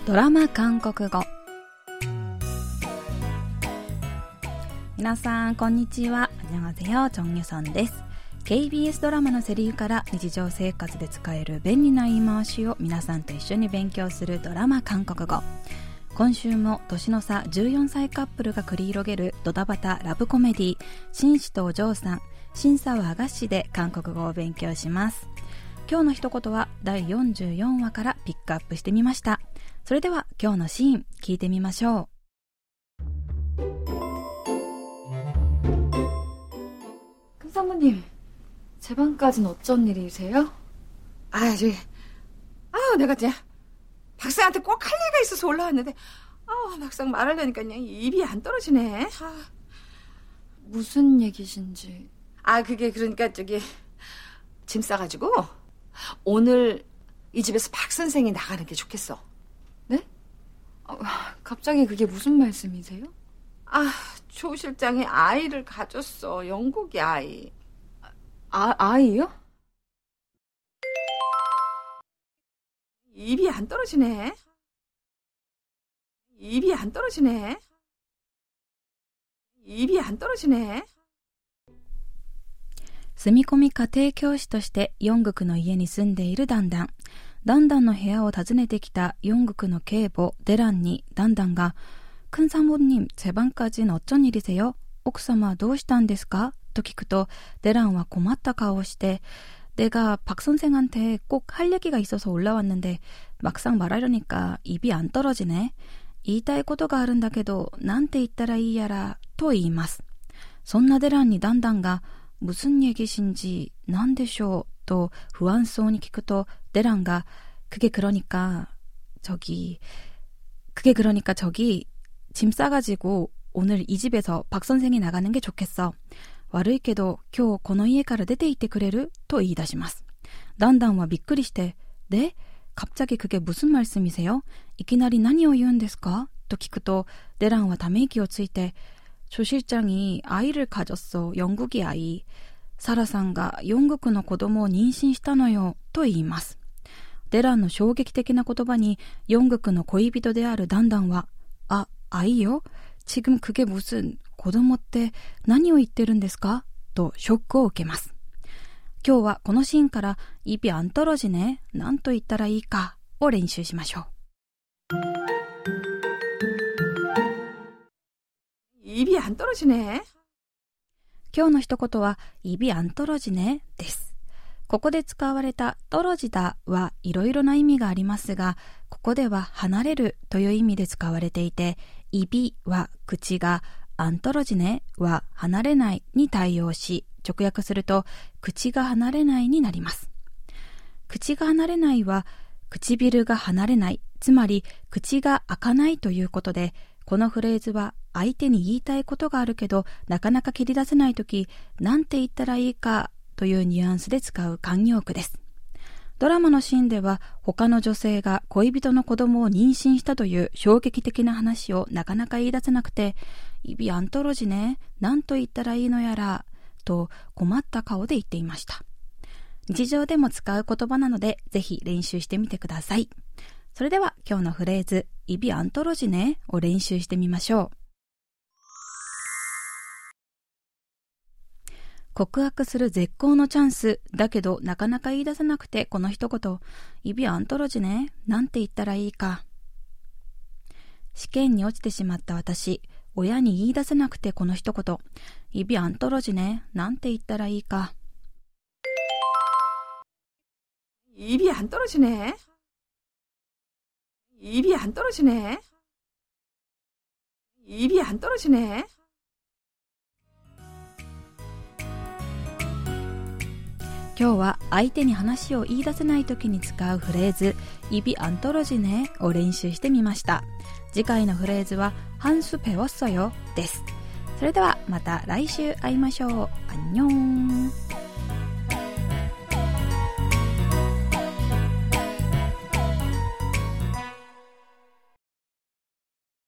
ドラマ韓国語。皆さんこんにちは。안녕하세요。チョンユソンです。 KBS ドラマのセリフから日常生活で使える便利な言い回しを皆さんと一緒に勉強するドラマ韓国語。今週も年の差14歳カップルが繰り広げるドタバタラブコメディ、紳士とお嬢さん、審査はがしで韓国語を勉強します。今日の一言は第44話からピックアップしてみました。それでは今日のシーン聞いてみましょう。 큰 사모님, 제 방까지는 어쩐 일이세요? 내가 그냥 박사한테 꼭 할 얘기가 있어서 올라왔는데 막상 말하려니까 그냥 입이 안 떨어지네. 무슨 얘기신지. 그게 그러니까 짐 싸가지고 오늘 이 집에서 박 선생이 나가는 게 좋겠어. 네? 갑자기 그게 무슨 말씀이세요? 조 실장이 아이를 가졌어. 영국이 아이. 아이요? 입이 안 떨어지네. 입이 안 떨어지네. 입이 안 떨어지네. 住み込み家庭教師としてヨングクの家に住んでいるダンダン。ダンダンの部屋を訪ねてきたヨングクの警母デランにダンダンが、큰 사모님, 제 방까지는 어쩐 일이세요? 奥様はどうしたんですかと聞くと、デランは困った顔をして、내가 박 선생한테 꼭 할 얘기가 있어서 올라왔는데 막상 말하려니까 입이 안 떨어지네. 言いたいことがあるんだけど、なんて言ったらいいやらと言います。そんなデランにダンダンが、무슨 얘기신지なんでしょうと不安そうに聞くと、デランが그게 그러니까 저기 짐 싸가지고 오늘 이 집에서 박 선생이 나가는 게 좋겠어. 悪いけど今日この家から出て行ってくれると言い出します。ダンダンはびっくりして、で、갑자기 그게 무슨 말씀이세요? いきなり何を言うんですかと聞くと、デランはため息をついて、조 실장이 아이를 가졌어. 영국이 아이. 사라さんがヨングクの子供を妊娠したのよと言います。デランの衝撃的な言葉にヨングクの恋人であるダンダンは、아이요? 지금 그게 무슨 子供って何を言ってるんですかとショックを受けます。今日はこのシーンから입이 안 떨어지네、何と言ったらいいかを練習しましょう。 입이 안 떨어지네。 今日の一言は입이 안 떨어지네です。ここで使われた떨어지다はいろいろな意味がありますが、ここでは離れるという意味で使われていて、입이は口が、안 떨어지네は離れないに対応し、直訳すると口が離れないになります。口が離れないは唇が離れない、つまり口が開かないということで、このフレーズは相手に言いたいことがあるけどなかなか切り出せないとき、なんて言ったらいいかというニュアンスで使う慣用句です。ドラマのシーンでは他の女性が恋人の子供を妊娠したという衝撃的な話をなかなか言い出せなくて、입이 안 떨어지네、なんと言ったらいいのやらと困った顔で言っていました。日常でも使う言葉なのでぜひ練習してみてください。それでは今日のフレーズ입이 안 떨어지네を練習してみましょう。告白する絶好のチャンスだけどなかなか言い出せなくて、この一言입이 안 떨어지네、なんて言ったらいいか。試験に落ちてしまった私、親に言い出せなくてこの一言입이 안 떨어지네、なんて言ったらいいか。 입이 안 떨어지네。입이 안 떨어지네。입이 안 떨어지네。 今日は相手に話を言い出せないときに使うフレーズ입이 안 떨어지네を練習してみました。次回のフレーズは한 수 배웠어요です。それではまた来週会いましょう。안녕。